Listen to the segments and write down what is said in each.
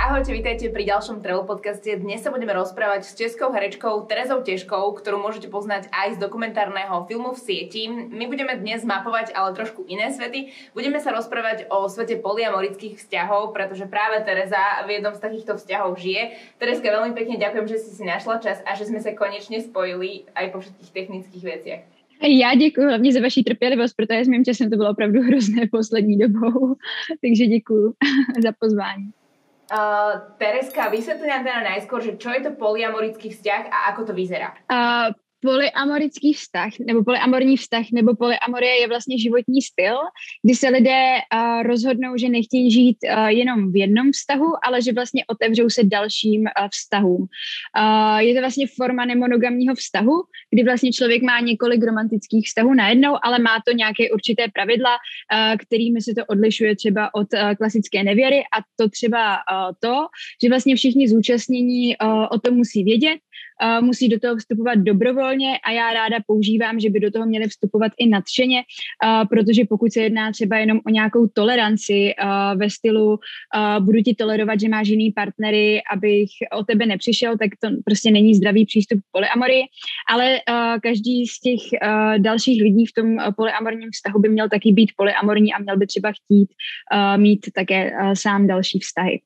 Ahojte, vítajte pri ďalšom Travel podcaste. Dnes sa budeme rozprávať s českou herečkou Terezou Težkou, ktorú môžete poznať aj z dokumentárneho filmu V sieti. My budeme dnes mapovať ale trošku iné svety. Budeme sa rozprávať o svete polyamorických vzťahov, pretože práve Tereza v jednom z takýchto vzťahov žije. Terezka, veľmi pekne ďakujem, že si našla čas a že sme sa konečne spojili aj po všetkých technických veciach. Já děkuji hlavně za vaši trpělivost, protože s mým časem to bylo opravdu hrozné poslední dobou, takže děkuji za pozvání. Terezka, vysvetli nám teda najskôr, že čo je to polyamorický vzťah a ako to vyzerá? Polyamorický vztah, nebo polyamorní vztah, nebo polyamorie je vlastně životní styl, kdy se lidé rozhodnou, že nechtějí žít jenom v jednom vztahu, ale že vlastně otevřou se dalším vztahům. Je to vlastně forma nemonogamního vztahu, kdy vlastně člověk má několik romantických vztahů najednou, ale má to nějaké určité pravidla, kterými se to odlišuje třeba od klasické nevěry, a to třeba to, že vlastně všichni zúčastnění o tom musí vědět, musí do toho vstupovat dobrovolně a já ráda používám, že by do toho měli vstupovat i nadšeně, protože pokud se jedná třeba jenom o nějakou toleranci ve stylu budu ti tolerovat, že máš jiný partnery, abych o tebe nepřišel, tak to prostě není zdravý přístup k polyamorii, ale každý z těch dalších lidí v tom polyamorním vztahu by měl taky být polyamorní a měl by třeba chtít mít také sám další vztahy.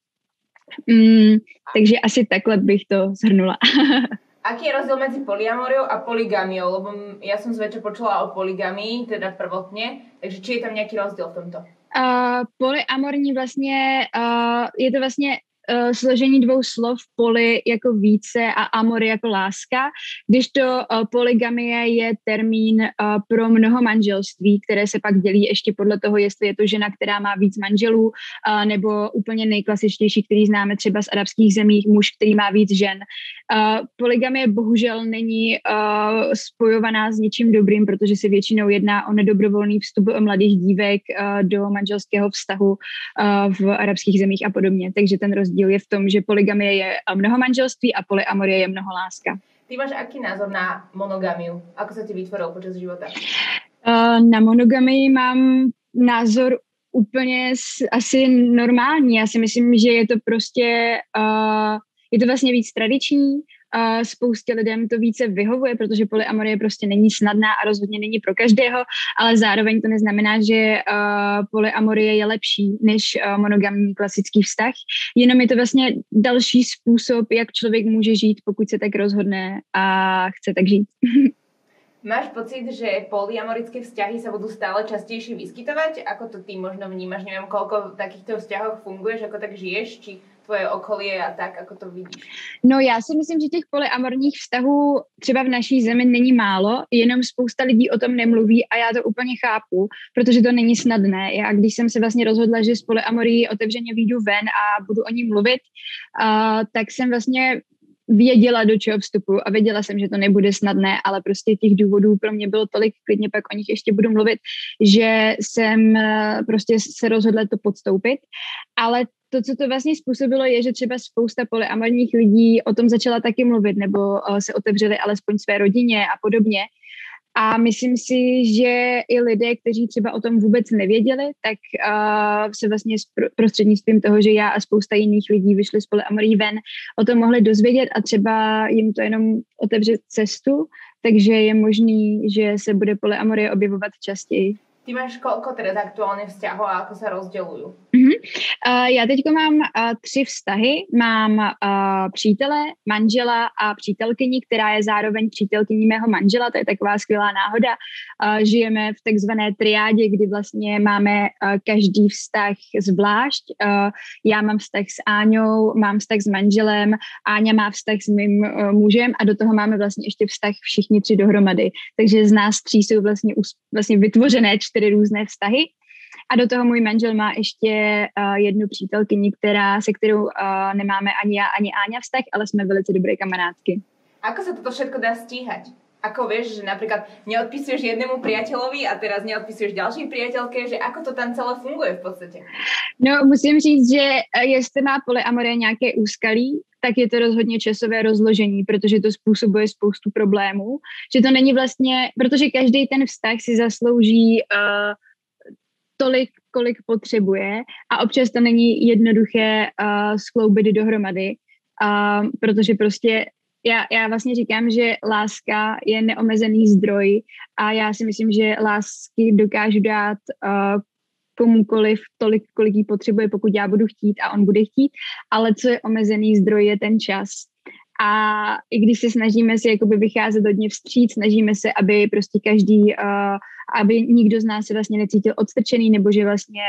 Takže asi takhle bych to zhrnula. Aký je rozdiel medzi polyamoriou a polygamiou? Lebo ja som zväčša počula o polygamii, teda prvotne, takže či je tam nejaký rozdiel v tomto? Polyamorní vlastně, je to vlastně složení dvou slov, poly jako více a amor jako láska, kdežto polygamie je termín pro mnoho manželství, které se pak dělí ještě podle toho, jestli je to žena, která má víc manželů, nebo úplně nejklasičtější, který známe třeba z arabských zemí, muž, který má víc žen. Polygamie bohužel není spojovaná s ničím dobrým, protože se většinou jedná o nedobrovolný vstup mladých dívek do manželského vztahu v arabských zemích a podobně. Takže ten rozdíl je v tom, že polygamie je mnoho manželství a polyamorie je mnoho láska. Ty máš aký názor na monogamiu? Ako sa ti vytvoril počas života? Na monogamii mám názor úplně asi normální. Já si myslím, že je to prostě je to vlastně víc tradiční. Spoustě lidem to více vyhovuje, protože polyamorie prostě není snadná a rozhodně není pro každého, ale zároveň to neznamená, že polyamorie je lepší než monogamní klasický vztah. Jenom je to vlastně další způsob, jak člověk může žít, pokud se tak rozhodne a chce tak žít. Máš pocit, že polyamorické vzťahy sa budú stále častejšie vyskytovať? Ako to ty možno vnímaš? Neviem, koľko v takýchto vzťahoch funguješ, ako tak žiješ, či tvoje okolie a tak, ako to vidíš? No já si myslím, že těch polyamorních vztahů třeba v naší zemi není málo, jenom spousta lidí o tom nemluví a já to úplně chápu, protože to není snadné. Já když jsem se vlastně rozhodla, že z polyamorii otevřeně vyjdu ven a budu o ní mluvit, tak jsem vlastně věděla, do čeho vstupu a věděla jsem, že to nebude snadné, ale prostě těch důvodů pro mě bylo tolik, klidně pak o nich ještě budu mluvit, že jsem prostě se rozhodla to podstoupit. Ale to, co to vlastně způsobilo, je, že třeba spousta polyamorních lidí o tom začala taky mluvit nebo se otevřeli alespoň své rodině a podobně. A myslím si, že i lidé, kteří třeba o tom vůbec nevěděli, tak se vlastně prostřednictvím toho, že já a spousta jiných lidí vyšli z polyamorí ven, o tom mohli dozvědět a třeba jim to jenom otevře cestu, takže je možný, že se bude polyamorie objevovat častěji. Ty máš koľko teraz aktuálne vzťahov a ako sa rozdeľujú? Já teď mám 3 vztahy. Mám přítele, manžela a přítelkyni, která je zároveň přítelkyní mého manžela. To je taková skvělá náhoda. Žijeme v takzvané triádě, kdy vlastně máme každý vztah zvlášť. Já mám vztah s Áňou, mám vztah s manželem, Áňa má vztah s mým mužem a do toho máme vlastně ještě vztah všichni 3 dohromady. Takže z nás 3 jsou vlastně vytvořené 4 různé vztahy. A do toho můj manžel má ještě jednu přítelkyni, se kterou nemáme ani já, ani Áňa vztah, ale jsme velice dobré kamarádky. Ako sa toto všetko dá stíhať? Ako vieš, že napríklad neodpisuješ jednému priateľovi a teraz neodpisuješ ďalšej priateľke, že ako to tam celé funguje v podstate? No, musím říct, že jestli má polyamorie nějaké úskalí, tak je to rozhodně časové rozložení, protože to způsobuje spoustu problémů. Že to není vlastně, protože každý ten vztah si zaslouží tolik, kolik potřebuje a občas to není jednoduché skloubit dohromady, protože prostě já vlastně říkám, že láska je neomezený zdroj a já si myslím, že lásky dokážu dát komukoliv tolik, kolik jí potřebuje, pokud já budu chtít a on bude chtít, ale co je omezený zdroj, je ten čas. A i když se snažíme si jakoby vycházet hodně vstříc, snažíme se, aby prostě každý, aby nikdo z nás se vlastně necítil odstrčený, nebo že vlastně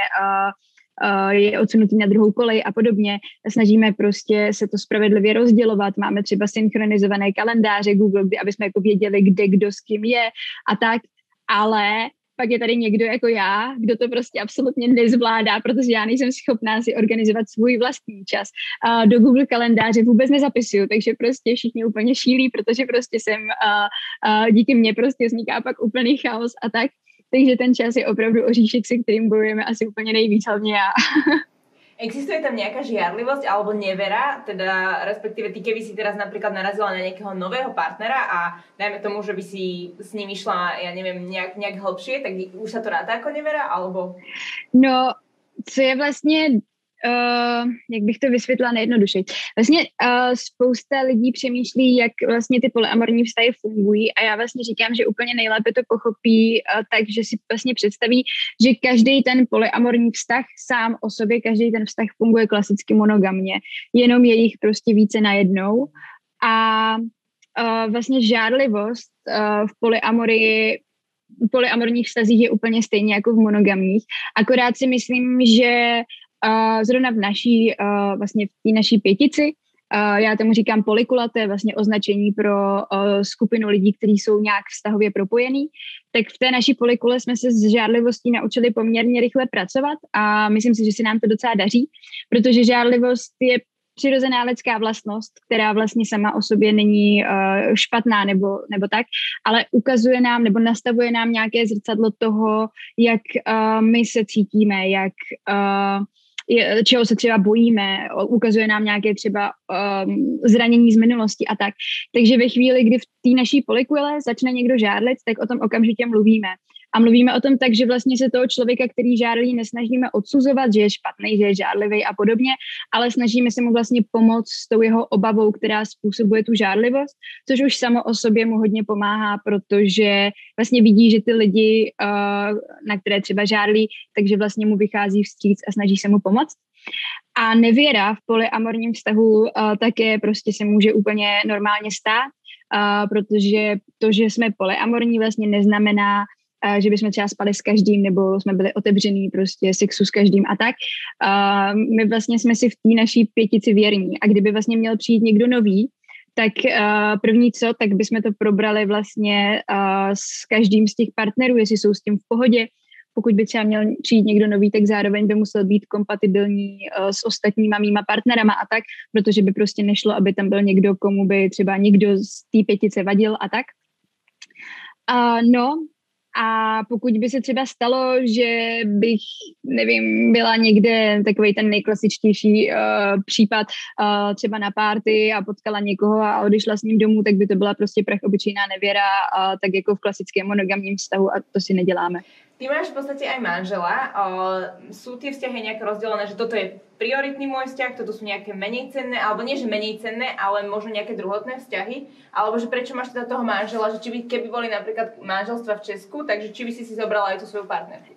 je odsunutý na druhou kolej a podobně. Snažíme prostě se to spravedlivě rozdělovat. Máme třeba synchronizované kalendáře Google, aby jsme jako věděli, kde kdo s kým je a tak, ale pak je tady někdo jako já, kdo to prostě absolutně nezvládá, protože já nejsem schopná si organizovat svůj vlastní čas. Do Google kalendáře vůbec nezapisuju, takže prostě všichni úplně šílí, protože prostě díky mně prostě vzniká pak úplný chaos a tak. Takže ten čas je opravdu oříšek, se kterým bojujeme asi úplně nejvíc, hlavně já. Existuje tam nejaká žiarlivosť alebo nevera, teda respektíve ty, keby si teraz napríklad narazila na nejakého nového partnera a dajme tomu, že by si s ním išla, ja neviem, nejak hlbšie, tak už sa to ráta ako nevera, alebo? No, co je vlastně, jak bych to vysvětlila nejjednodušeji. Vlastně spousta lidí přemýšlí, jak vlastně ty polyamorní vztahy fungují a já vlastně říkám, že úplně nejlépe to pochopí tak, že si vlastně představí, že každý ten polyamorní vztah sám o sobě, každý ten vztah funguje klasicky monogamně, jenom je jich prostě více najednou a vlastně žárlivost v polyamorních vztazích je úplně stejně jako v monogamních, akorát si myslím, že zrovna v vlastně v té naší pětici, já tomu říkám polykula, to je vlastně označení pro skupinu lidí, kteří jsou nějak vztahově propojení, tak v té naší polykule jsme se s žárlivostí naučili poměrně rychle pracovat a myslím si, že se nám to docela daří, protože žárlivost je přirozená lidská vlastnost, která vlastně sama o sobě není špatná nebo tak, ale ukazuje nám nebo nastavuje nám nějaké zrcadlo toho, jak my se cítíme, čeho se třeba bojíme, ukazuje nám nějaké třeba zranění z minulosti a tak. Takže ve chvíli, kdy v té naší polykule začne někdo žárlit, tak o tom okamžitě mluvíme. A mluvíme o tom tak, že vlastně se toho člověka, který žárlí, nesnažíme odsuzovat, že je špatný, že je žárlivý a podobně, ale snažíme se mu vlastně pomoct s tou jeho obavou, která způsobuje tu žárlivost, což už samo o sobě mu hodně pomáhá, protože vlastně vidí, že ty lidi, na které třeba žárlí, takže vlastně mu vychází vstříc a snaží se mu pomoct. A nevěra v polyamorním vztahu také prostě se může úplně normálně stát, protože to, že jsme polyamorní, vlastně neznamená, že bychom třeba spali s každým, nebo jsme byli otevřený prostě sexu s každým a tak. My vlastně jsme si v té naší pětici věrní a kdyby vlastně měl přijít někdo nový, tak první co, tak bychom to probrali vlastně s každým z těch partnerů, jestli jsou s tím v pohodě. Pokud by třeba měl přijít někdo nový, tak zároveň by musel být kompatibilní s ostatníma mýma partnerama a tak, protože by prostě nešlo, aby tam byl někdo, komu by třeba někdo z té pětice vadil a tak. A pokud by se třeba stalo, že bych, nevím, byla někde takovej ten nejklasičtější případ třeba na party a potkala někoho a odešla s ním domů, tak by to byla prostě obyčejná nevěra, tak jako v klasickém monogamním vztahu a to si neděláme. Ty máš v podstate aj manžela. Sú tie vzťahy nejak rozdelené, že toto je prioritný môj vzťah, toto sú nejaké menej cenné, alebo nie, že menej cenné, ale možno nejaké druhotné vzťahy? Alebo že prečo máš teda toho manžela, že či by, keby boli napríklad manželstva v Česku, takže či by si zobrala aj tú svoju partnerku?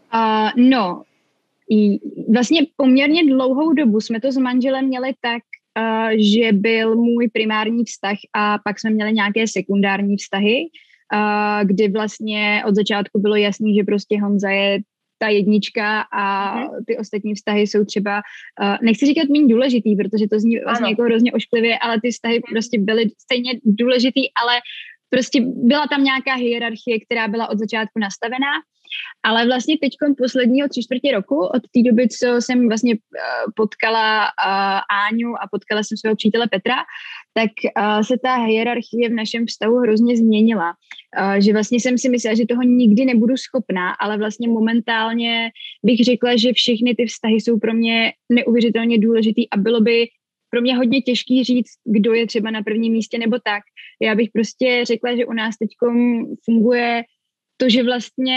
Vlastně poměrně dlouhou dobu jsme to s manželem měli tak, že byl můj primární vztah a pak jsme měli nějaké sekundární vztahy, kdy vlastně od začátku bylo jasný, že prostě Honza je ta jednička a ty ostatní vztahy jsou třeba, nechci říkat méně důležitý, protože to zní vlastně jako hrozně ošklivě, ale ty vztahy prostě byly stejně důležitý, ale prostě byla tam nějaká hierarchie, která byla od začátku nastavená. Ale vlastně teďkom posledního 3/4 roku, od té doby, co jsem vlastně potkala Áňu a potkala jsem svého přítele Petra, tak se ta hierarchie v našem vztahu hrozně změnila. Že vlastně jsem si myslela, že toho nikdy nebudu schopná, ale vlastně momentálně bych řekla, že všechny ty vztahy jsou pro mě neuvěřitelně důležitý a bylo by pro mě hodně těžký říct, kdo je třeba na prvním místě nebo tak. Já bych prostě řekla, že u nás teďkom funguje to, že vlastně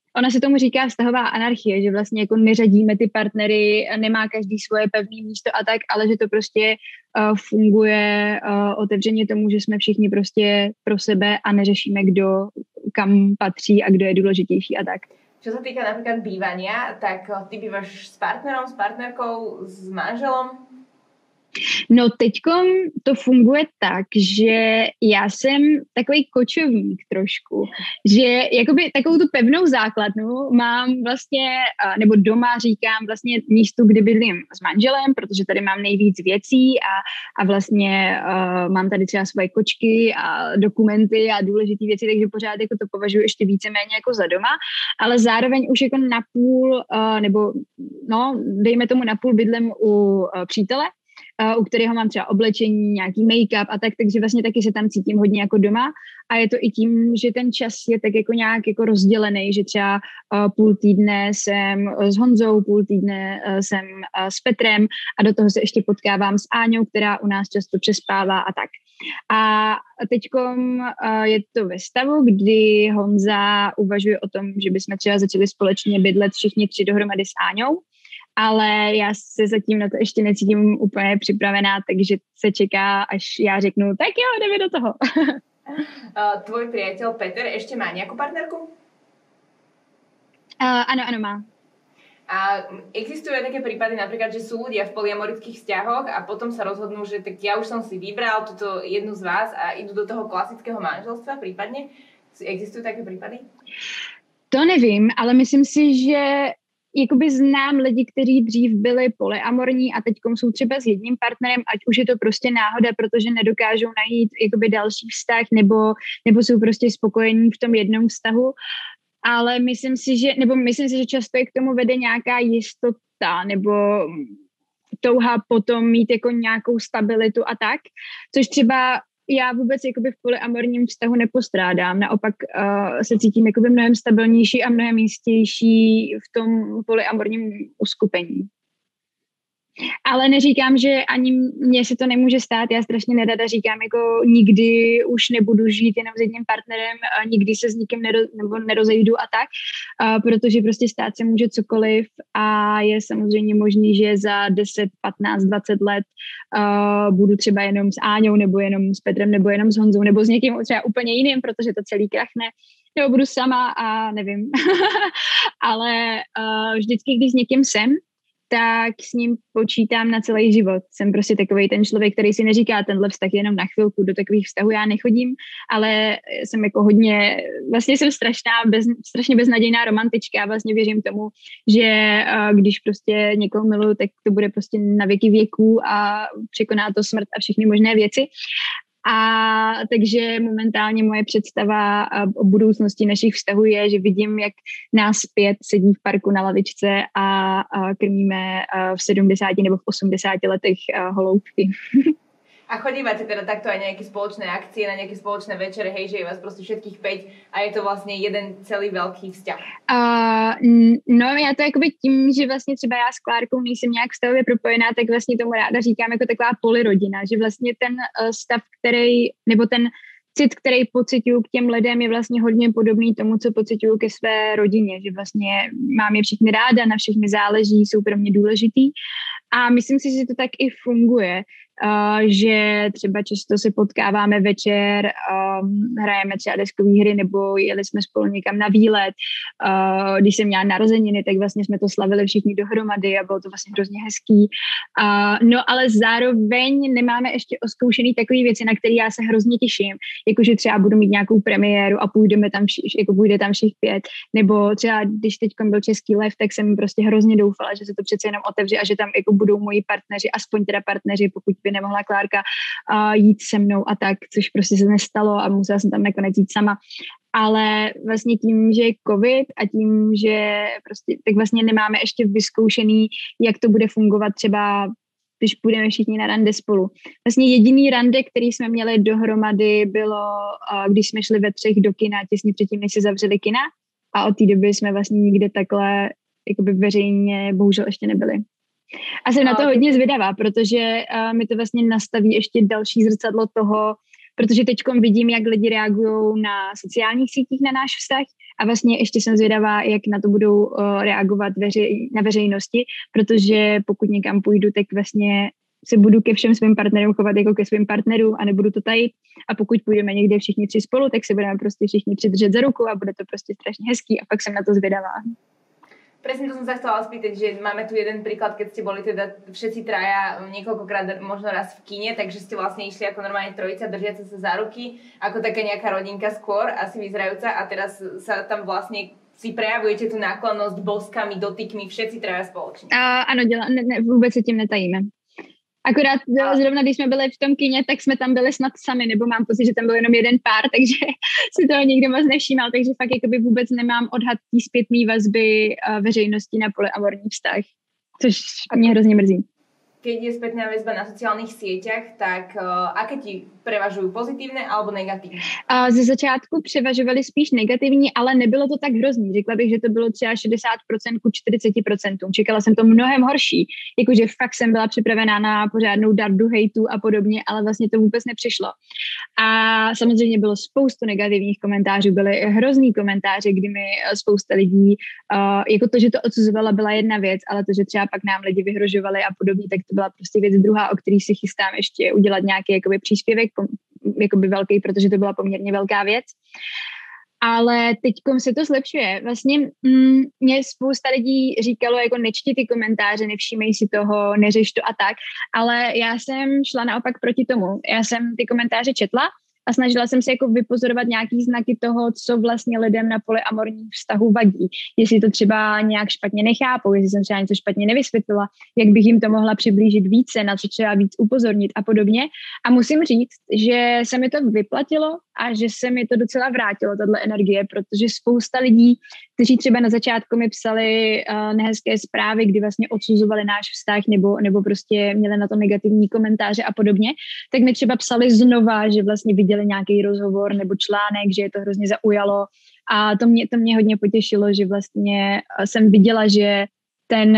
Ona se tomu říká vztahová anarchie, že vlastně jako neřadíme ty partnery, nemá každý svoje pevné místo a tak, ale že to prostě funguje otevřeně tomu, že jsme všichni prostě pro sebe a neřešíme, kdo kam patří a kdo je důležitější a tak. Čo sa týka napríklad bývania, tak ty bývaš s partnerom, s partnerkou, s manželom? No teďkom to funguje tak, že já jsem takový kočovník trošku, že jakoby takovou tu pevnou základnu mám vlastně, nebo doma říkám vlastně místu, kde bydlím s manželem, protože tady mám nejvíc věcí a vlastně mám tady třeba svoje kočky a dokumenty a důležité věci, takže pořád jako to považuji ještě víceméně jako za doma, ale zároveň už jako napůl, nebo no, dejme tomu napůl bydlím u přítele, u kterého mám třeba oblečení, nějaký make-up a tak, takže vlastně taky se tam cítím hodně jako doma a je to i tím, že ten čas je tak jako nějak jako rozdělený, že třeba půl týdne jsem s Honzou, půl týdne jsem s Petrem a do toho se ještě potkávám s Áňou, která u nás často přespává a tak. A teďkom je to ve stavu, kdy Honza uvažuje o tom, že bychom třeba začali společně bydlet všichni 3 dohromady s Áňou, ale já se zatím na to ještě necítím úplně připravená, takže se čeká, až já řeknu, tak jo, jdeme do toho. Tvoj priateľ Peter ešte má nejakú partnerku? Ano, má. A existujú aj také prípady napríklad, že sú ľudia v polyamorických vzťahoch a potom sa rozhodnú, že tak ja už som si vybral túto jednu z vás a idú do toho klasického manželstva prípadne? Existujú také prípady? To nevím, ale myslím si, že jakoby znám lidi, kteří dřív byli polyamorní a teďkom jsou třeba s jedním partnerem, ať už je to prostě náhoda, protože nedokážou najít jakoby další vztah nebo jsou prostě spokojení v tom jednom vztahu. Ale myslím si, že často je k tomu vede nějaká jistota nebo touha potom mít jako nějakou stabilitu a tak, což třeba já vůbec jakoby v polyamorním vztahu nepostrádám. Naopak se cítím jakoby mnohem stabilnější a mnohem jistější v tom polyamorním uskupení. Ale neříkám, že ani mně se to nemůže stát. Já strašně nerada říkám, jako nikdy už nebudu žít jenom s jedním partnerem, nikdy se s nikým nerozejdu a tak, protože prostě stát se může cokoliv a je samozřejmě možný, že za 10, 15, 20 let budu třeba jenom s Áňou, nebo jenom s Petrem, nebo jenom s Honzou, nebo s někým třeba úplně jiným, protože to celý krachne, nebo budu sama a nevím. Ale vždycky, když s někým jsem, tak s ním počítám na celý život. Jsem prostě takovej ten člověk, který si neříká tenhle vztah jenom na chvilku, do takových vztahů já nechodím, ale jsem jako hodně, vlastně jsem strašně beznadějná romantička a vlastně věřím tomu, že když prostě někoho miluju, tak to bude prostě na věky věků a překoná to smrt a všechny možné věci. A takže momentálně moje představa o budoucnosti našich vztahů je, že vidím, jak nás 5 sedí v parku na lavičce a krmíme v 70 nebo v 80 letech holoubky. A chodívate teda takto aj nejaké spoločné akcie, na nejaké spoločné večere, hej, že je vás proste všetkých 5 a je to vlastne jeden celý veľký vzťah? No já to jakoby tím, že vlastně třeba já s Klárkou nejsem nějak vztahově propojená, tak vlastně tomu ráda říkám jako taková polyrodina, že vlastně ten stav, který, nebo ten cit, který pociťuju k těm lidem, je vlastně hodně podobný tomu, co pociťuju ke své rodině, že vlastně mám je všichni ráda, na všechny záleží, jsou pro mě důležitý a myslím si, že to tak i funguje. Že třeba často se potkáváme večer, hrajeme třeba deskové hry nebo jeli jsme spolu někam na výlet. Když jsem měla narozeniny, tak vlastně jsme to slavili všichni dohromady a bylo to vlastně hrozně hezký. No ale zároveň nemáme ještě oskoušený takové věci, na které já se hrozně těším. Jakože třeba budu mít nějakou premiéru a půjde tam všech 5. Nebo třeba když teď byl Český lev, tak jsem prostě hrozně doufala, že se to přece jenom otevře a že tam jako budou moji partneři, aspoň teda partneři, pokud by nemohla Klárka jít se mnou a tak, což prostě se nestalo a musela jsem tam nakonec jít sama. Ale vlastně tím, že je covid a tím, že prostě tak vlastně nemáme ještě vyzkoušený, jak to bude fungovat třeba, když půjdeme všichni na rande spolu. Vlastně jediný rande, který jsme měli dohromady, bylo, když jsme šli ve 3 do kina, těsně předtím, než se zavřeli kina a od té doby jsme vlastně nikde takhle jakoby veřejně bohužel ještě nebyli. A jsem na to hodně zvědavá, protože mi to vlastně nastaví ještě další zrcadlo toho, protože teďkom vidím, jak lidi reagují na sociálních sítích na náš vztah a vlastně ještě jsem zvědavá, jak na to budou reagovat na veřejnosti, protože pokud někam půjdu, tak vlastně se budu ke všem svým partnerům chovat jako ke svým partnerům a nebudu to tajit. A pokud půjdeme někde všichni tři spolu, tak se budeme prostě všichni tři držet za ruku a bude to prostě strašně hezký a pak jsem na to zvědavá. Presne to som sa chcela spýtať, že máme tu jeden príklad, keď ste boli teda všetci traja niekoľkokrát, možno raz v kine, takže ste vlastne išli ako normálne trojica, držiaca sa za ruky, ako taká nejaká rodinka skôr, asi vyzerajúca a teraz sa tam vlastne si prejavujete tú náklonnosť boskami, dotykmi, všetci traja spoločne. Ano, vůbec se tím netajíme. Akorát zrovna, když jsme byli v tom kině, tak jsme tam byli snad sami, nebo mám pocit, že tam byl jenom jeden pár, takže si toho nikdo moc nevšímal, takže fakt jakoby vůbec nemám odhad tý zpětný vazby veřejnosti na polyamorní vztah, což mě hrozně mrzí. Keď je spätná väzba na sociálnych sieťach, tak aké ti prevažujú, pozitívne alebo negatívne? Ze začátku převažovaly spíš negativní, ale nebylo to tak hrozný. Řekla bych, že to bylo třeba 60% ku 40%. Čekala jsem to mnohem horší. Jakože fakt jsem byla připravená na pořádnou dardu hejtu a podobně, ale vlastně to vůbec nepřišlo. A samozřejmě bylo spoustu negativních komentářů, byly hrozný komentáře, kdy mi spousta lidí, jako to, že to odsuzovala, byla jedna věc, ale to, že třeba pak nám lidi vyhrožovali a podobně, tak to byla prostě věc druhá, o který si chystám ještě udělat nějaký jakoby příspěvek, jakoby velký, protože to byla poměrně velká věc. Ale teďkom se to zlepšuje. Vlastně mě spousta lidí říkalo, jako nečti ty komentáře, nevšímej si toho, neřeš to a tak, ale já jsem šla naopak proti tomu. Já jsem ty komentáře četla a snažila jsem se jako vypozorovat nějaký znaky toho, co vlastně lidem na polyamorním vztahu vadí. Jestli to třeba nějak špatně nechápou, jestli jsem třeba něco špatně nevysvětlila, jak bych jim to mohla přiblížit více, na co třeba víc upozornit a podobně. A musím říct, že se mi to vyplatilo a že se mi to docela vrátilo, tato energie, protože spousta lidí, kteří třeba na začátku mi psali nehezké zprávy, kdy vlastně odsuzovali náš vztah nebo prostě měli na to negativní komentáře a podobně, tak mi třeba psali znova, že vlastně viděli nějaký rozhovor nebo článek, že je to hrozně zaujalo a to mě hodně potěšilo, že vlastně jsem viděla, že ten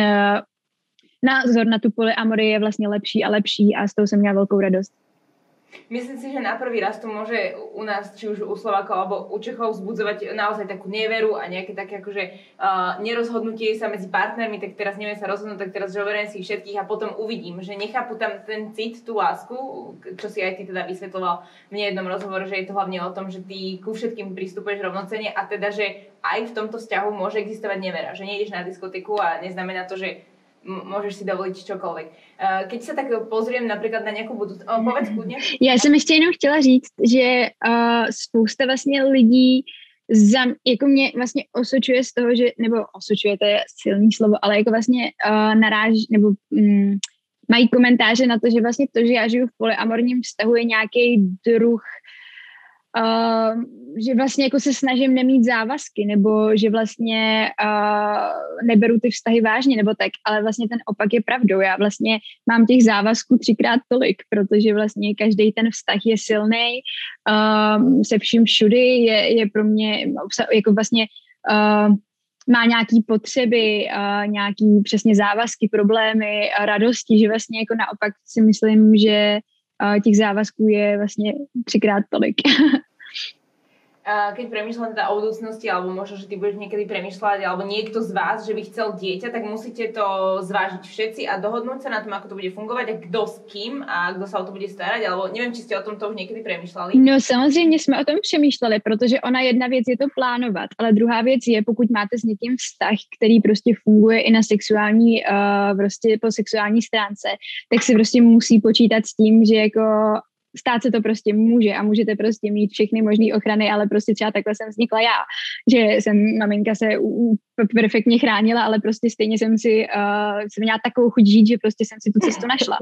názor na tu polyamorii je vlastně lepší a lepší a z toho jsem měla velkou radost. Myslím si, že na prvý raz to môže u nás, či už u Slovákov alebo u Čechov vzbudzovať naozaj takú neveru a nejaké také akože nerozhodnutie sa medzi partnermi, tak teraz neviem sa rozhodnúť, tak teraz zoberiem si všetkých a potom uvidím, že nechápu tam ten cit, tú lásku, čo si aj ty teda vysvetľoval v nejednom rozhovore, že je to hlavne o tom, že ty ku všetkým pristupuješ rovnocenne a teda, že aj v tomto vzťahu môže existovať nevera, že nejdeš na diskotéku a neznamená to, že môžeš si dovoliť čokoľvek. Keď sa tak pozriem napríklad na nejakú budúcnosť, povedz kľudne. Já jsem ještě jenom chtěla říct, že spousta vlastně lidí jako mě vlastně osočuje z toho, že, nebo osočuje, to je silný slovo, ale jako vlastně naráží, nebo mají komentáře na to, že vlastně to, že já žiju v polyamorním vztahu je nějaký druh že vlastně jako se snažím nemít závazky, nebo že vlastně neberu ty vztahy vážně, nebo tak, ale vlastně ten opak je pravdou. Já vlastně mám těch závazků 3x tolik, protože vlastně každý ten vztah je silný, se vším všudy, je pro mě jako vlastně má nějaký potřeby, nějaký přesně závazky, problémy, radosti, že vlastně jako naopak si myslím, že těch závazků je vlastně 3x tolik. Keď premýšľam teda o budúcnosti, alebo možno, že ty budeš niekedy premýšľať, alebo niekto z vás, že by chcel dieťa, tak musíte to zvážiť všetci a dohodnúť sa na tom, ako to bude fungovať a kto s kým a kdo sa o to bude starať, alebo neviem, či ste o tomto už niekedy premýšľali. No samozřejmě jsme o tom přemýšleli, protože ona jedna věc je to plánovat, ale druhá věc je, pokud máte s někým vztah, který prostě funguje i na sexuální, prostě po sexuální stránce, tak si prostě musí počítat s tím, že jako stát se to prostě může a můžete prostě mít všechny možné ochrany, ale prostě třeba takhle jsem vznikla já, že maminka se perfektně chránila, ale prostě stejně jsem měla takovou chuť žít, že prostě jsem si tu cestu našla.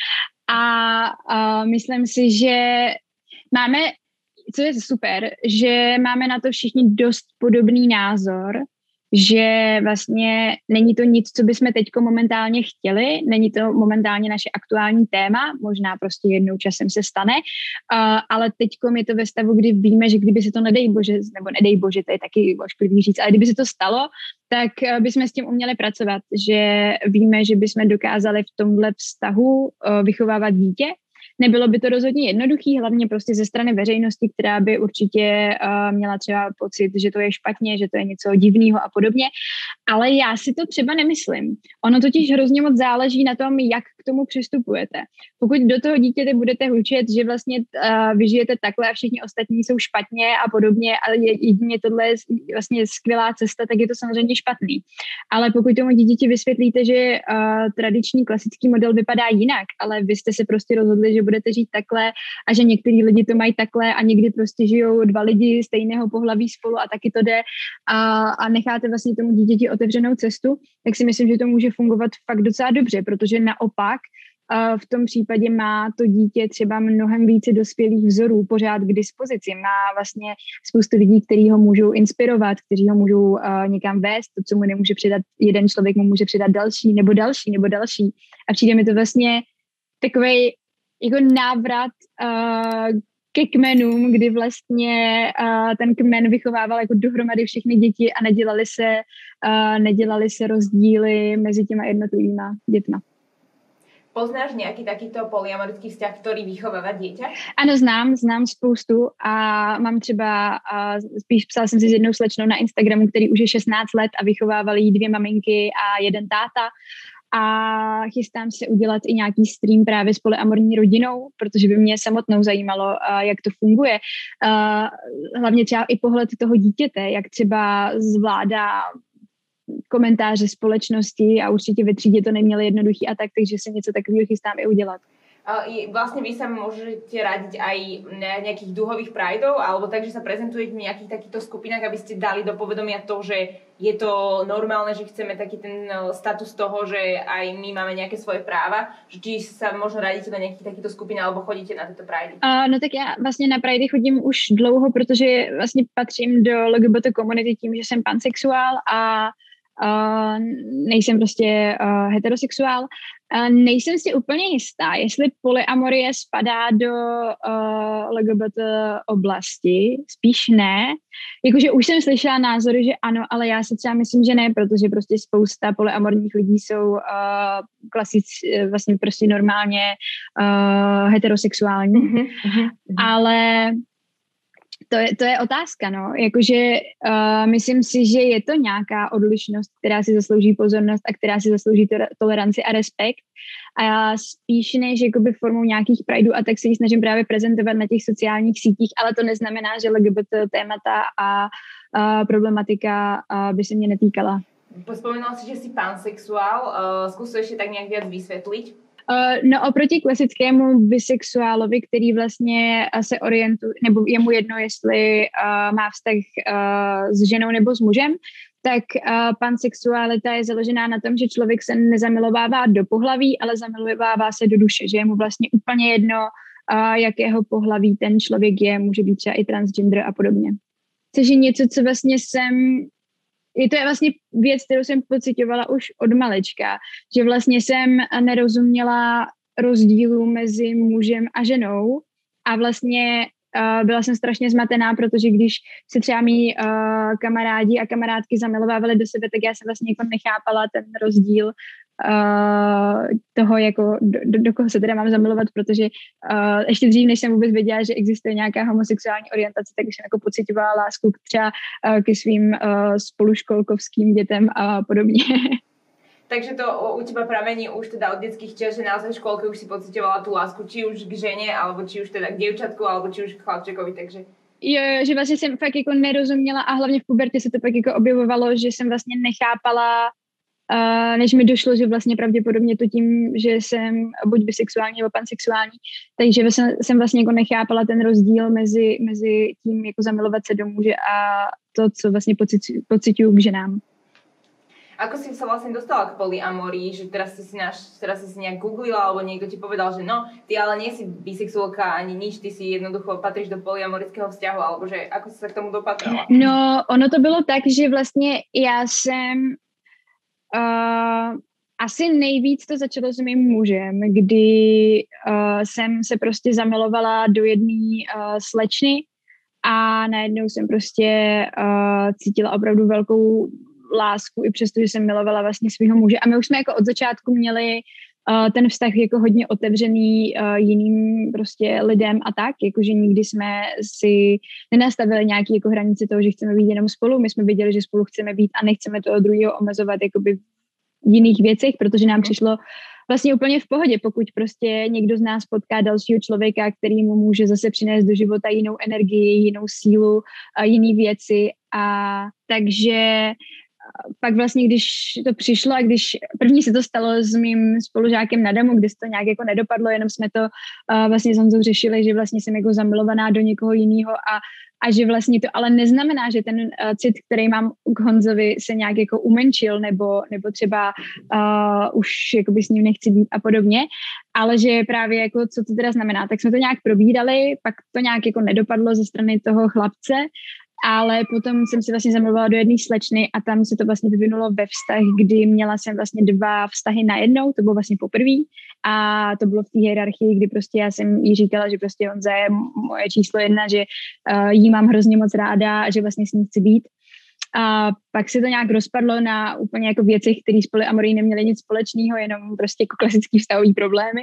A myslím si, že máme, co je super, že máme na to všichni dost podobný názor, že vlastně není to nic, co bychom teďko momentálně chtěli, není to momentálně naše aktuální téma, možná prostě jednou časem se stane, ale teďko je to ve stavu, kdy víme, že kdyby se to nedej bože, to je taky ošklivý říct, ale kdyby se to stalo, tak bychom s tím uměli pracovat, že víme, že bychom dokázali v tomhle vztahu vychovávat dítě, Nebylo by to rozhodně jednoduchý, hlavně prostě ze strany veřejnosti, která by určitě měla třeba pocit, že to je špatně, že to je něco divného a podobně, ale já si to třeba nemyslím. Ono totiž hrozně moc záleží na tom, jak k tomu přistupujete. Pokud do toho dítěte budete hučet, že vlastně vy žijete takhle a všichni ostatní jsou špatně a podobně, ale jedině tohle je vlastně skvělá cesta, tak je to samozřejmě špatný. Ale pokud tomu dítěti vysvětlíte, že tradiční klasický model vypadá jinak, ale vy jste se prostě rozhodli, že budete žít takhle a že některý lidi to mají takhle a někdy prostě žijou dva lidi stejného pohlaví spolu a taky to jde a necháte vlastně tomu dítěti otevřenou cestu, tak si myslím, že to může fungovat fakt docela dobře, protože naopak v tom případě má to dítě třeba mnohem více dospělých vzorů pořád k dispozici. Má vlastně spoustu lidí, kteří ho můžou inspirovat, kteří ho můžou někam vést. To, co mu nemůže předat jeden člověk, mu může předat další nebo další nebo další. A přijde mi to vlastně takovej jako návrat ke kmenům, kdy vlastně ten kmen vychovával jako dohromady všechny děti a nedělali se rozdíly mezi těma jednotlivýma dětma. Poznáš nějaký takýto polyamorický vzťah, který vychovává dieťa? Ano, znám spoustu a mám třeba, spíš psala jsem si s jednou slečnou na Instagramu, který už je 16 let a vychovávali jí 2 maminky a 1 táta. A chystám se udělat i nějaký stream právě s polyamorní rodinou, protože by mě samotnou zajímalo, jak to funguje. Hlavně třeba i pohled toho dítěte, jak třeba zvládá komentáře společnosti a určitě ve třídě to neměli jednoduchý a tak, takže se něco takového chystám i udělat. Vlastne vy sa môžete radiť aj na nejakých duhových prideov, alebo tak, že sa prezentujete v nejakých takýchto skupinách, aby ste dali do povedomia to, že je to normálne, že chceme taký ten status toho, že aj my máme nejaké svoje práva, že či sa možno radíte do nejakých takýchto skupín, alebo chodíte na tieto pridey? No tak já vlastně na pridey chodím už dlouho, protože vlastně patřím do LGBT komunity tím, že jsem pansexuál a nejsem prostě heterosexuál. Nejsem si úplně jistá, jestli polyamorie spadá do LGBT oblasti, spíš ne. Jakože už jsem slyšela názory, že ano, ale já si třeba myslím, že ne, protože prostě spousta polyamorních lidí jsou vlastně prostě normálně heterosexuální. Ale to je otázka, no. Jakože myslím si, že je to nějaká odlišnost, která si zaslouží pozornost a která si zaslouží toleranci a respekt. A spíš než jakoby formou nějakých prideů a tak se ji snažím právě prezentovat na těch sociálních sítích, ale to neznamená, že LGBT témata a problematika by se mě netýkala. Spomenula si, že si pansexuál. Skús to ešte tak nejak viac vysvetliť. No oproti klasickému bisexuálovi, který vlastně se orientuje, nebo je mu jedno, jestli má vztah s ženou nebo s mužem, tak pansexualita je založená na tom, že člověk se nezamilovává do pohlaví, ale zamilovává se do duše, že je mu vlastně úplně jedno, jakého pohlaví ten člověk je, může být třeba i transgender a podobně. Což je něco, co vlastně to je vlastně věc, kterou jsem pocitovala už od malička, že vlastně jsem nerozuměla rozdílu mezi mužem a ženou a vlastně byla jsem strašně zmatená, protože když se třeba mý kamarádi a kamarádky zamilovávali do sebe, tak já jsem vlastně jako nechápala ten rozdíl toho, jako do koho se teda mám zamilovat, protože ještě dřív, než jsem vůbec věděla, že existuje nějaká homosexuální orientace, tak už jsem jako pocitovala lásku třeba ke svým spoluškolkovským dětem a podobně. Takže to u teba pramení už teda od detských čias, že naozaj v škôlke už si pocitovala tú lásku, či už k žene, alebo či už teda k dievčatku, alebo či už k chlapčekovi, takže... Jo, že vlastně jsem fakt jako nerozuměla a hlavně v pubertě se to pak jako objevovalo, že jsem vlastně nechápala, než mi došlo, že vlastně pravděpodobně to tím, že jsem buď bisexuální nebo pansexuální, takže jsem vlastně jako nechápala ten rozdíl mezi tím jako zamilovat se do muže a to, co vlastně pociťuju k ženám. Ako si sa vlastne dostala k polyamorii, že teraz si si nejak googlila, alebo niekto ti povedal, že no, ty ale nie si bisexuálka ani nič, ty si jednoducho patríš do polyamorického vzťahu, alebo že ako si sa k tomu dopatrala? No, ono to bylo tak, že vlastně já jsem asi nejvíc to začalo s mým mužem, kdy jsem se prostě zamilovala do jedné slečny a najednou jsem prostě cítila opravdu velkou lásku, i přesto, že jsem milovala vlastně svého muže. A my už jsme jako od začátku měli ten vztah jako hodně otevřený jiným prostě lidem a tak, jakože nikdy jsme si nenastavili nějaký jako hranice toho, že chceme být jenom spolu, my jsme věděli, že spolu chceme být a nechceme toho druhého omezovat jakoby v jiných věcech, protože nám přišlo vlastně úplně v pohodě, pokud prostě někdo z nás potká dalšího člověka, který mu může zase přinést do života jinou energii, jinou sílu, jiný věci a takže pak vlastně, když to přišlo a když první se to stalo s mým spolužákem na Damu, kde se to nějak jako nedopadlo, jenom jsme to vlastně s Honzou řešili, že vlastně jsem jako zamilovaná do někoho jiného a že vlastně to ale neznamená, že ten cit, který mám k Honzovi, se nějak jako umenšil nebo třeba už jakoby s ním nechci být a podobně, ale že právě jako co to teda znamená, tak jsme to nějak probírali, pak to nějak jako nedopadlo ze strany toho chlapce, ale potom jsem se vlastně zamilovala do jedné slečny a tam se to vlastně vyvinulo ve vztah, kdy měla jsem vlastně 2 vztahy najednou, to bylo vlastně poprvé a to bylo v té hierarchii, kdy prostě já jsem jí říkala, že prostě Honza je moje číslo 1, že jí mám hrozně moc ráda a že vlastně s ní chci být. A pak se to nějak rozpadlo na úplně jako věcech, které s polyamorí neměly nic společného, jenom prostě jako klasický vztahový problémy.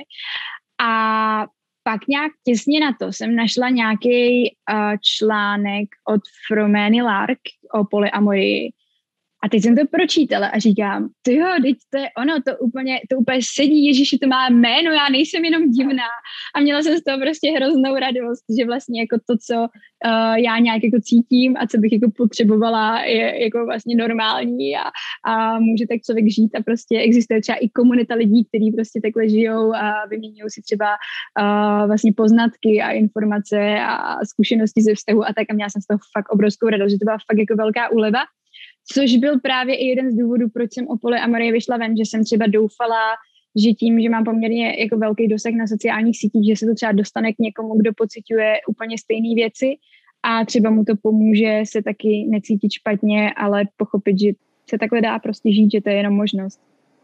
A pak nějak těsně na to jsem našla nějaký článek od Fromény Lark o polyamorii. A teď jsem to pročítala a říkám, tyjo, teď to je ono, to úplně sedí, Ježiši, to má jméno, já nejsem jenom divná. A měla jsem z toho prostě hroznou radost, že vlastně jako to, co já nějak jako cítím a co bych jako potřebovala, je jako vlastně normální a může tak člověk žít a prostě existuje třeba i komunita lidí, kteří prostě takhle žijou a vyměňují si třeba vlastně poznatky a informace a zkušenosti ze vztahu a tak a měla jsem z toho fakt obrovskou radost, že to byla fakt jako velká úleva. Což byl právě i jeden z důvodů, proč jsem o polyamorii vyšla ven, že jsem třeba doufala, že tím, že mám poměrně jako velký dosah na sociálních sítích, že se to třeba dostane k někomu, kdo pociťuje úplně stejné věci a třeba mu to pomůže se taky necítit špatně, ale pochopit, že se takhle dá prostě žít, že to je jenom možnost.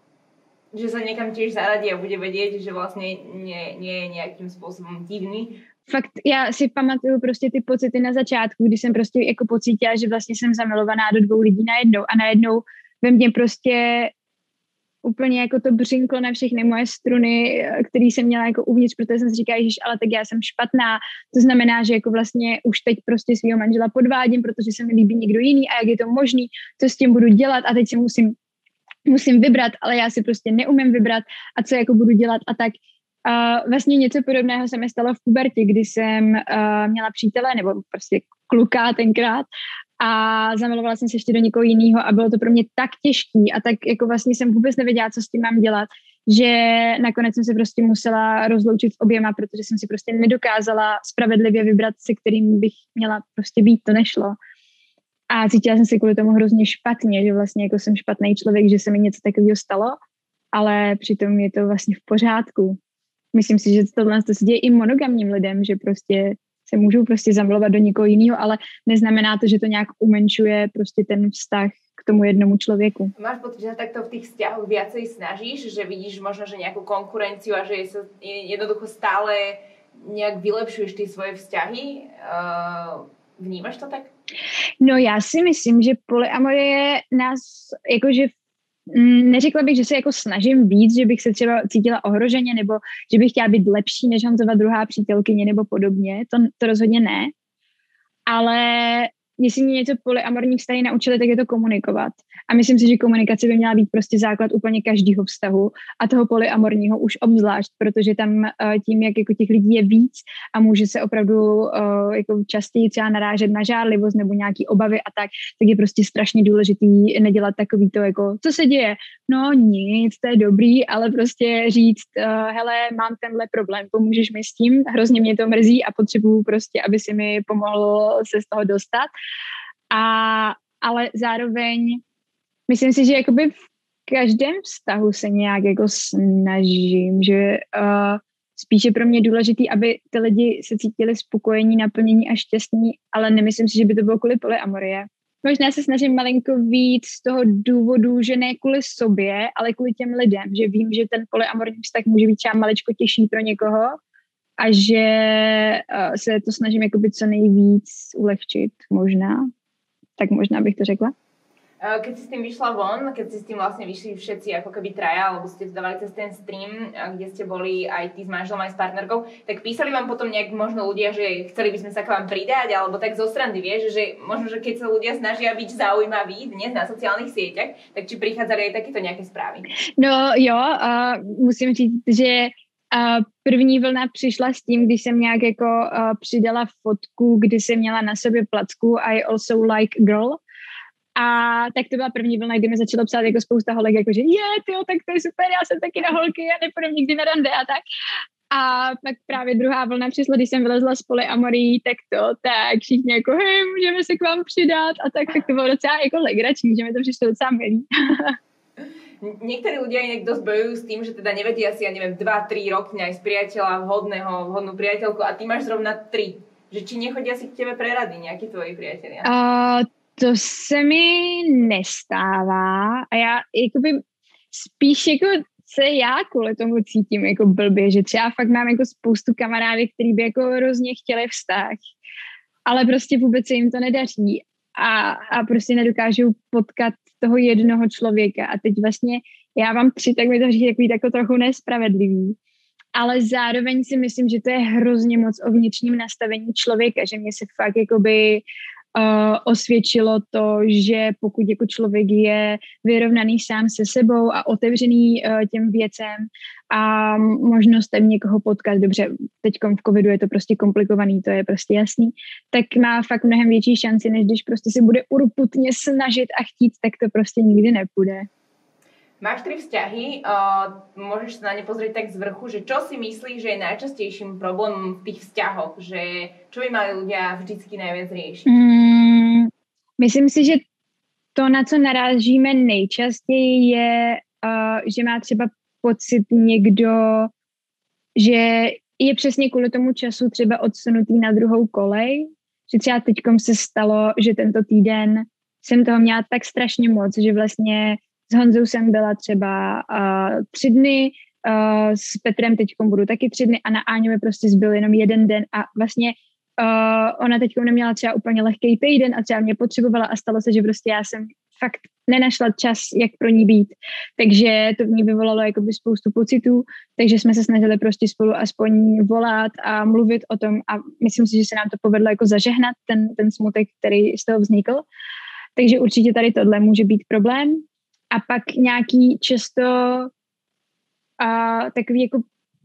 Že sa niekam tiež zaradí a bude vedieť, že vlastne nie je nejakým spôsobom divný. Fakt, já si pamatuju prostě ty pocity na začátku, kdy jsem prostě jako pocítila, že vlastně jsem zamilovaná do 2 lidí najednou a najednou ve mně prostě úplně jako to břinklo na všechny moje struny, které jsem měla jako uvnitř, protože jsem si říkala, že ale tak já jsem špatná, to znamená, že jako vlastně už teď prostě svýho manžela podvádím, protože se mi líbí někdo jiný a jak je to možný, co s tím budu dělat a teď si musím vybrat, ale já si prostě neumím vybrat a co jako budu dělat a tak. Vlastně něco podobného se mi stalo v pubertě, kdy jsem měla přítele, nebo prostě kluka tenkrát a zamilovala jsem se ještě do někoho jiného a bylo to pro mě tak těžký a tak jako vlastně jsem vůbec nevěděla, co s tím mám dělat, že nakonec jsem se prostě musela rozloučit s oběma, protože jsem si prostě nedokázala spravedlivě vybrat, se kterým bych měla prostě být, to nešlo. A cítila jsem se kvůli tomu hrozně špatně, že vlastně jako jsem špatný člověk, že se mi něco takového stalo, ale přitom je to vlastně v pořádku. Myslím si, že tohle se děje i monogamním lidem, že prostě se můžou prostě zamilovat do někoho jiného, ale neznamená to, že to nějak umenšuje prostě ten vztah k tomu jednomu člověku. Máš pocit, že takto v tých vzťahoch viacej snažíš, že vidíš možno, že nejakú konkurenciu a že sa jednoducho stále nejak vylepšuješ ty svoje vzťahy? Vnímaš to tak? No já si myslím, že polyamorie nás jakože neřekla bych, že se jako snažím víc, že bych se třeba cítila ohroženě nebo že bych chtěla být lepší než Honzova druhá přítelkyně nebo podobně, to rozhodně ne, ale jestli mě něco polyamorní vztahy naučili, tak je to komunikovat. A myslím si, že komunikace by měla být prostě základ úplně každého vztahu a toho polyamorního už obzvlášť, protože tam tím, jak jako těch lidí je víc a může se opravdu jako častěji třeba narážet na žárlivost nebo nějaký obavy a tak je prostě strašně důležitý nedělat takový to jako, co se děje? No nic, to je dobrý, ale prostě říct, hele, mám tenhle problém, pomůžeš mi s tím, hrozně mě to mrzí a potřebuju prostě, aby si mi pomohl se z toho dostat. Ale zároveň myslím si, že jakoby v každém vztahu se nějak jako snažím, že spíše pro mě je důležitý, aby ty lidi se cítili spokojení, naplnění a šťastní, ale nemyslím si, že by to bylo kvůli polyamorie. Možná se snažím malinko víc z toho důvodu, že ne kvůli sobě, ale kvůli těm lidem, že vím, že ten polyamorní vztah může být třeba maličko těžší pro někoho a že se to snažím jakoby co nejvíc ulehčit možná. Tak možná bych to řekla. Keď si s tým vyšla von, keď si s tým vlastne vyšli všetci ako keby traja, alebo ste to dávali cez ten stream, kde ste boli aj ty s manželom, aj s partnerkou, tak písali vám potom nejak možno ľudia, že chceli by sme sa k vám pridať, alebo tak zo strany, vieš, že možno, že keď sa ľudia snažia byť zaujímaví dnes na sociálnych sieťach, tak či prichádzali aj takéto nejaké správy? No jo, musím říct, že první vlna přišla s tím, když jsem nějak jako přidala fotku, kdy jsem měla na sobě placku I also like girl. A tak to byla první vlna, kdy mi začalo psát jako spousta holek, jakože tak to je super, já jsem taky na holky a nepůjdem nikdy na rande a tak. A pak právě druhá vlna přišla, když jsem vylezla z polyamorí, tak všichni jako hej, můžeme se k vám přidat a tak to bylo docela jako legrační, že mi to přišlo docela milý. Niektorí ľudia inak dosť bojujú s tým, že teda nevedia si, ja neviem, 2-3 roky nájsť priateľa vhodnú priateľku a ty máš zrovna 3. Že či nechodia si k tebe pre rady nejakí tvoji priatelia? To se mi nestává a já jakoby spíš jako se já kvůli tomu cítím jako blbě, že třeba fakt mám jako spoustu kamarádek, který by jako hrozně chtěli vztah, ale prostě vůbec se jim to nedaří a prostě nedokážou potkat toho jednoho člověka a teď vlastně já mám 3, tak mi to říct takový jako trochu nespravedlivý. Ale zároveň si myslím, že to je hrozně moc o vnitřním nastavení člověka, že mě se fakt jakoby osvědčilo to, že pokud jako člověk je vyrovnaný sám se sebou a otevřený těm věcem a možnostem někoho potkat, dobře, teďkom v covidu je to prostě komplikovaný, to je prostě jasný, tak má fakt mnohem větší šanci, než když prostě se bude urputně snažit a chtít, tak to prostě nikdy nepůjde. Máš 3 vzťahy, môžeš sa na ne pozrieť tak z vrchu, že čo si myslíš, že je najčastejším problémom v tých vzťahoch, že čo by mali ľudia vždycky najviac riešiť? Myslím si, že to, na co narážíme nejčastěji, je, že má třeba pocit někdo, že je přesně kvůli tomu času třeba odsunutý na druhou kolej, že třeba teďkom se stalo, že tento týden jsem toho měla tak strašně moc, že vlastně s Honzou jsem byla třeba 3 dny, s Petrem teďkom budu taky 3 dny a na Áňu mi prostě zbyl jenom 1 den a vlastně ona teďkom neměla třeba úplně lehkej týden a třeba mě potřebovala a stalo se, že prostě já jsem fakt nenašla čas, jak pro ní být. Takže to v ní vyvolalo jakoby spoustu pocitů, takže jsme se snažili prostě spolu aspoň volat a mluvit o tom a myslím si, že se nám to povedlo jako zažehnat, ten smutek, který z toho vznikl. Takže určitě tady tohle může být problém. A pak nějaký často takový jako,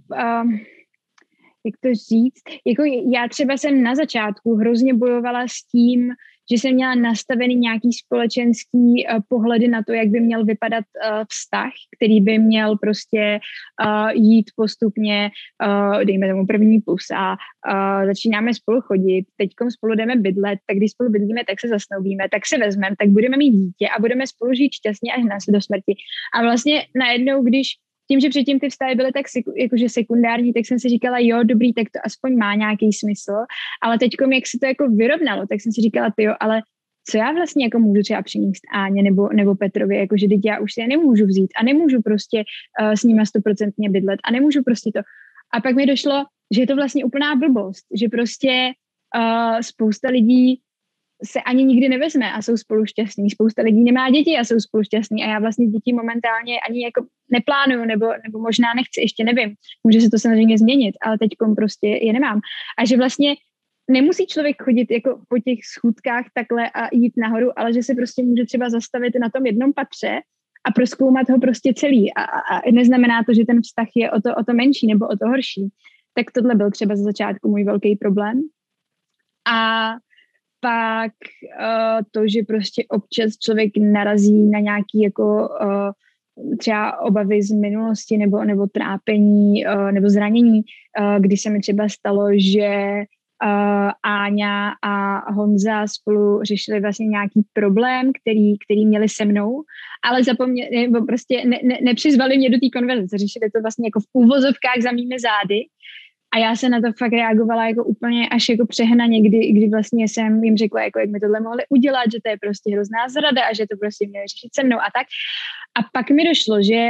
jak to říct, jako já třeba jsem na začátku hrozně bojovala s tím, že jsem měla nastavený nějaký společenský pohledy na to, jak by měl vypadat vztah, který by měl prostě jít postupně, dejme tomu první pusa, začínáme spolu chodit, teďkom spolu jdeme bydlet, tak když spolu bydlíme, tak se zasnoubíme, tak se vezmeme, tak budeme mít dítě a budeme spolu žít šťastně až do smrti. A vlastně najednou, když tím, že předtím ty vztahy byly tak jakože sekundární, tak jsem si říkala, jo, dobrý, tak to aspoň má nějaký smysl, ale teďkom, jak se to jako vyrovnalo, tak jsem si říkala, tyjo, ale co já vlastně jako můžu třeba přinést Áně nebo Petrovi, jakože teď já už si je nemůžu vzít a nemůžu prostě s nima 100% bydlet a nemůžu prostě to. A pak mi došlo, že je to vlastně úplná blbost, že prostě spousta lidí se ani nikdy nevezme a jsou spolu šťastní. Spousta lidí nemá děti a jsou spolu šťastní a já vlastně děti momentálně ani jako neplánuju nebo možná nechci, ještě nevím. Může se to samozřejmě změnit, ale teďkom prostě je nemám. A že vlastně nemusí člověk chodit jako po těch schůdkách takhle a jít nahoru, ale že se prostě může třeba zastavit na tom jednom patře a prozkoumat ho prostě celý. A neznamená to, že ten vztah je o to menší nebo o to horší. Tak tohle byl třeba za začátku můj velký problém. A pak to, že prostě občas člověk narazí na nějaký jako třeba obavy z minulosti nebo trápení nebo zranění, kdy se mi třeba stalo, že Áňa a Honza spolu řešili vlastně nějaký problém, který měli se mnou, ale zapomněli, nebo prostě nepřizvali mě do té konverzace, řešili to vlastně jako v úvozovkách za mými zády. A já se na to fakt reagovala jako úplně až jako přehnaně, kdy vlastně jsem jim řekla, jako jak mi tohle mohli udělat, že to je prostě hrozná zrada a že to prostě měli řešit se mnou a tak. A pak mi došlo, že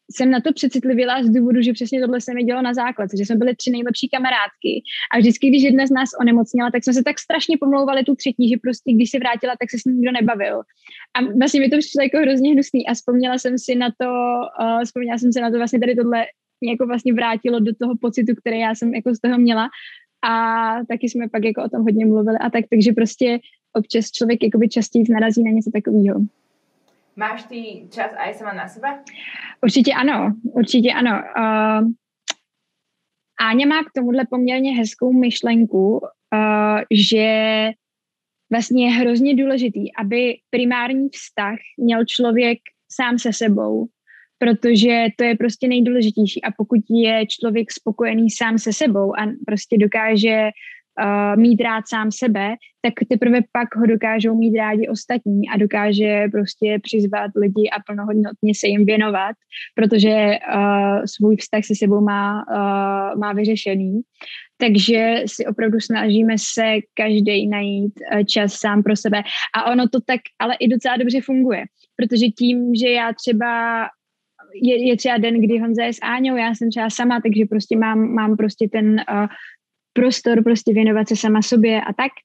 jsem na to přecitlivěla z důvodu, že přesně tohle se mi dělo na základce, že jsme byli 3 nejlepší kamarádky a vždycky, když jedna z nás onemocněla, tak jsme se tak strašně pomlouvali tu třetí, že prostě když se vrátila, tak se s ní nikdo nebavil. A vlastně mi to přišlo jako hrozně hnusný a vzpomněla jsem si na to vlastně tady tohle mě jako vlastně vrátilo do toho pocitu, který já jsem jako z toho měla a taky jsme pak jako o tom hodně mluvili a tak, takže prostě občas člověk jakoby častěji narazí na něco takového. Máš ty čas aj sama na seba? Určitě ano. Áňa má k tomuhle poměrně hezkou myšlenku, že vlastně je hrozně důležitý, aby primární vztah měl člověk sám se sebou, protože to je prostě nejdůležitější a pokud je člověk spokojený sám se sebou a prostě dokáže mít rád sám sebe, tak teprve pak ho dokážou mít rádi ostatní a dokáže prostě přizvat lidi a plnohodnotně se jim věnovat, protože svůj vztah se sebou má vyřešený. Takže si opravdu snažíme se každý najít čas sám pro sebe. A ono to tak ale i docela dobře funguje, protože tím, že já třeba je třeba den, kdy Honza je s Áňou, já jsem třeba sama, takže prostě mám prostě ten prostor prostě věnovat se sama sobě a tak.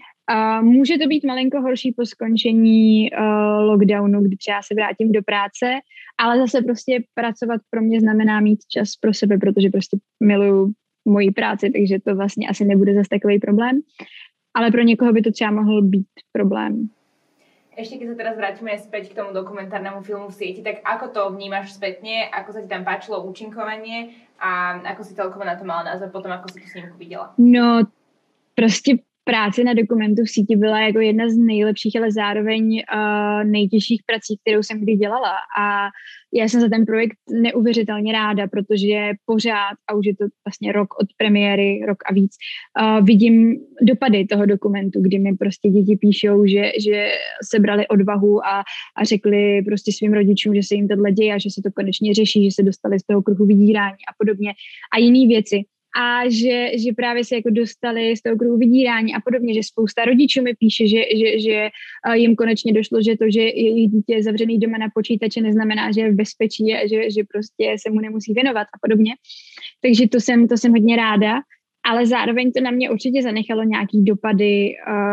Může to být malinko horší po skončení lockdownu, kdy třeba se vrátím do práce, ale zase prostě pracovat pro mě znamená mít čas pro sebe, protože prostě miluju moji práci, takže to vlastně asi nebude zase takový problém. Ale pro někoho by to třeba mohl být problém. Ešte keď sa teraz vrátime späť k tomu dokumentárnemu filmu v sieti, tak ako to vnímaš spätne, ako sa ti tam páčilo účinkovanie a ako si celkovo na to mala názor potom, ako si tú snímku videla? No, prostě práce na dokumentu v síti byla jako jedna z nejlepších, ale zároveň nejtěžších prací, kterou jsem kdy dělala. A já jsem za ten projekt neuvěřitelně ráda, protože pořád, a už je to vlastně rok od premiéry, rok a víc, vidím dopady toho dokumentu, kdy mi prostě děti píšou, že sebrali odvahu a řekli prostě svým rodičům, že se jim tohle děje a že se to konečně řeší, že se dostali z toho kruhu vydírání a podobně. A jiné věci. A že právě se jako dostali z toho kruhu vydírání a podobně, že spousta rodičů mi píše, že jim konečně došlo, že to, že jejich dítě je zavřený doma na počítače, neznamená, že je v bezpečí a že prostě se mu nemusí věnovat a podobně. Takže to jsem hodně ráda, ale zároveň to na mě určitě zanechalo nějaký dopady,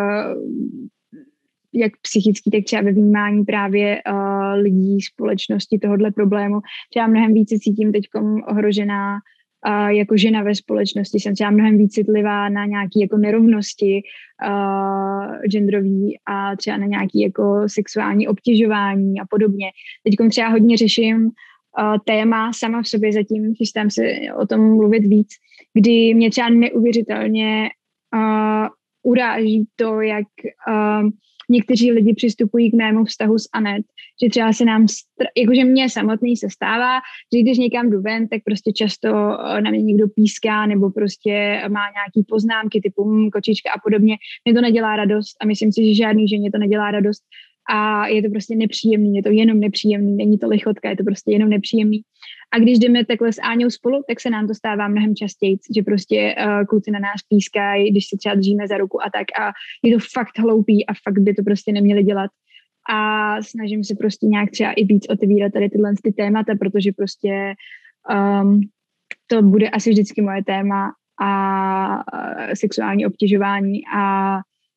jak psychický, tak třeba ve vnímání právě lidí, společnosti tohohle problému. Třeba mnohem více cítím teďkom ohrožená jako žena ve společnosti, jsem třeba mnohem víc citlivá na nějaké jako nerovnosti genderový a třeba na nějaké jako sexuální obtěžování a podobně. Teď třeba hodně řeším téma sama v sobě, zatím chystám se o tom mluvit víc, kdy mě třeba neuvěřitelně uráží to, jak někteří lidi přistupují k mému vztahu s Anet, že třeba se nám, jakože mě samotný se stává, že když někam jdu ven, tak prostě často na mě někdo píská nebo prostě má nějaký poznámky typu kočička a podobně. Mě to nedělá radost a myslím si, že žádný ženě to nedělá radost a je to prostě nepříjemný, je to jenom nepříjemný, není to lichotka, je to prostě jenom nepříjemný. A když jdeme takhle s Áňou spolu, tak se nám to stává mnohem častěji, že prostě kluci na nás pískají, když se třeba držíme za ruku a tak a je to fakt hloupý a fakt by to prostě neměli dělat. A snažím se prostě nějak třeba i víc otevírat tady tyhle ty témata, protože prostě to bude asi vždycky moje téma a sexuální obtěžování a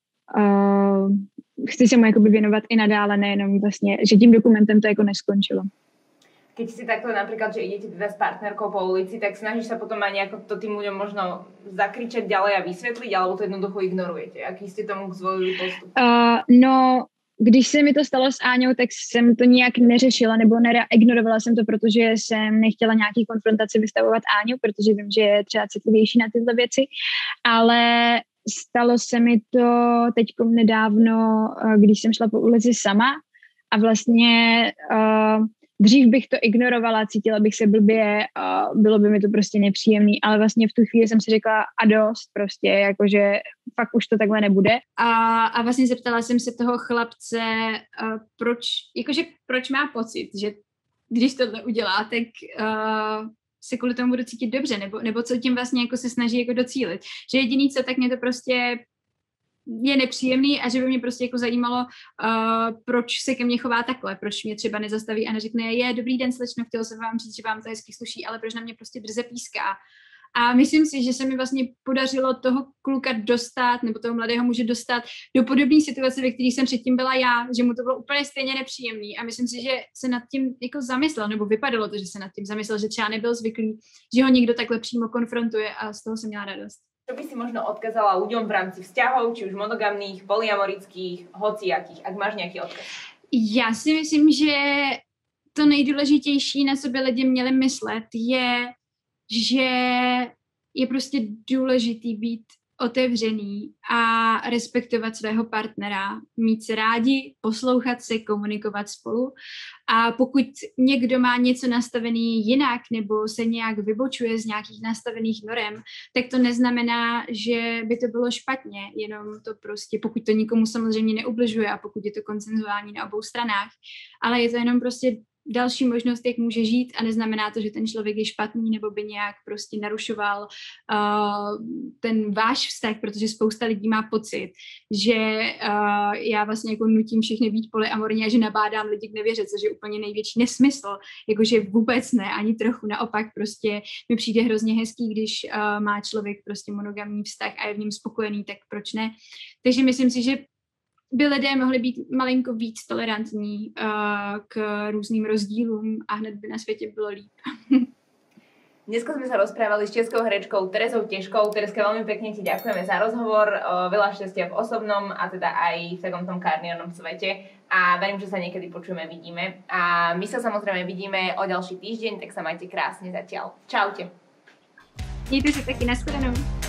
chci se mu jakoby věnovat i nadále, nejenom vlastně, že tím dokumentem to jako neskončilo. Keď si takto napríklad, že idete teda s partnerkou po ulici, tak snažíš sa potom aj nejako to tým ľuďom možno zakričať ďalej a vysvetliť, alebo to jednoducho ignorujete? Aký ste tomu zvolili postup? No, když se mi to stalo s Áňou, tak jsem to nijak neřešila nebo ignorovala jsem to, protože jsem nechtěla nějaký konfrontaci vystavovat Áňu, protože vím, že je třeba citlivější na tyhle věci, ale stalo se mi to teďkom nedávno, když jsem šla po ulici sama a vlastně dřív bych to ignorovala, cítila bych se blbě, bylo by mi to prostě nepříjemný, ale vlastně v tu chvíli jsem si řekla a dost prostě, jakože fakt už to takhle nebude. A vlastně zeptala jsem se toho chlapce, proč má pocit, že když tohle udělá, tak se kvůli tomu budu cítit dobře, nebo co tím vlastně jako se snaží jako docílit. Že jediný co, tak mě to prostě je nepříjemný a že by mě prostě jako zajímalo, proč se ke mně chová takhle, proč mě třeba nezastaví a neřekne, je dobrý den slečno, chtěl jsem vám říct, že vám to hezky sluší, ale proč na mě prostě drze píská. A myslím si, že se mi vlastně podařilo toho kluka dostat, nebo toho mladého muže dostat do podobné situace, ve které jsem předtím byla já, že mu to bylo úplně stejně nepříjemný. A myslím si, že se nad tím jako zamyslel, nebo vypadalo to, že se nad tím zamyslel, že třeba nebyl zvyklý, že ho někdo takhle přímo konfrontuje a z toho jsem měla radost. Čo by si možno odkazala ľuďom v rámci vzťahov, či už monogamných, polyamorických, hociakých, ak máš nejaký odkaz? Já si myslím, že to nejdůležitější, na co by lidi měli myslet, je, že je prostě důležitý být otevřený a respektovat svého partnera, mít se rádi, poslouchat se, komunikovat spolu. A pokud někdo má něco nastavený jinak nebo se nějak vybočuje z nějakých nastavených norem, tak to neznamená, že by to bylo špatně, jenom to prostě, pokud to nikomu samozřejmě neubližuje a pokud je to konsenzuální na obou stranách, ale je to jenom prostě další možnost, jak může žít a neznamená to, že ten člověk je špatný nebo by nějak prostě narušoval ten váš vztah, protože spousta lidí má pocit, že já vlastně jako nutím všechny být polyamorní a že nabádám lidi k nevěře, což je úplně největší nesmysl, jakože vůbec ne, ani trochu, naopak prostě mi přijde hrozně hezký, když má člověk prostě monogamní vztah a je v něm spokojený, tak proč ne? Takže myslím si, že by lidé mohli být malinko víc tolerantní k různým rozdílům a hned by na světě bylo líp. Dneska sme sa rozprávali s českou herečkou Terezou Težkou. Terezka, veľmi pekne ti ďakujeme za rozhovor, veľa šťastia v osobnom a teda aj v takom tom kariérnom svete a verím, že sa niekedy počujeme, vidíme. A my sa samozrejme vidíme o ďalší týždeň, tak sa majte krásne zatiaľ. Čaute. Mějte se taky, nashledanou.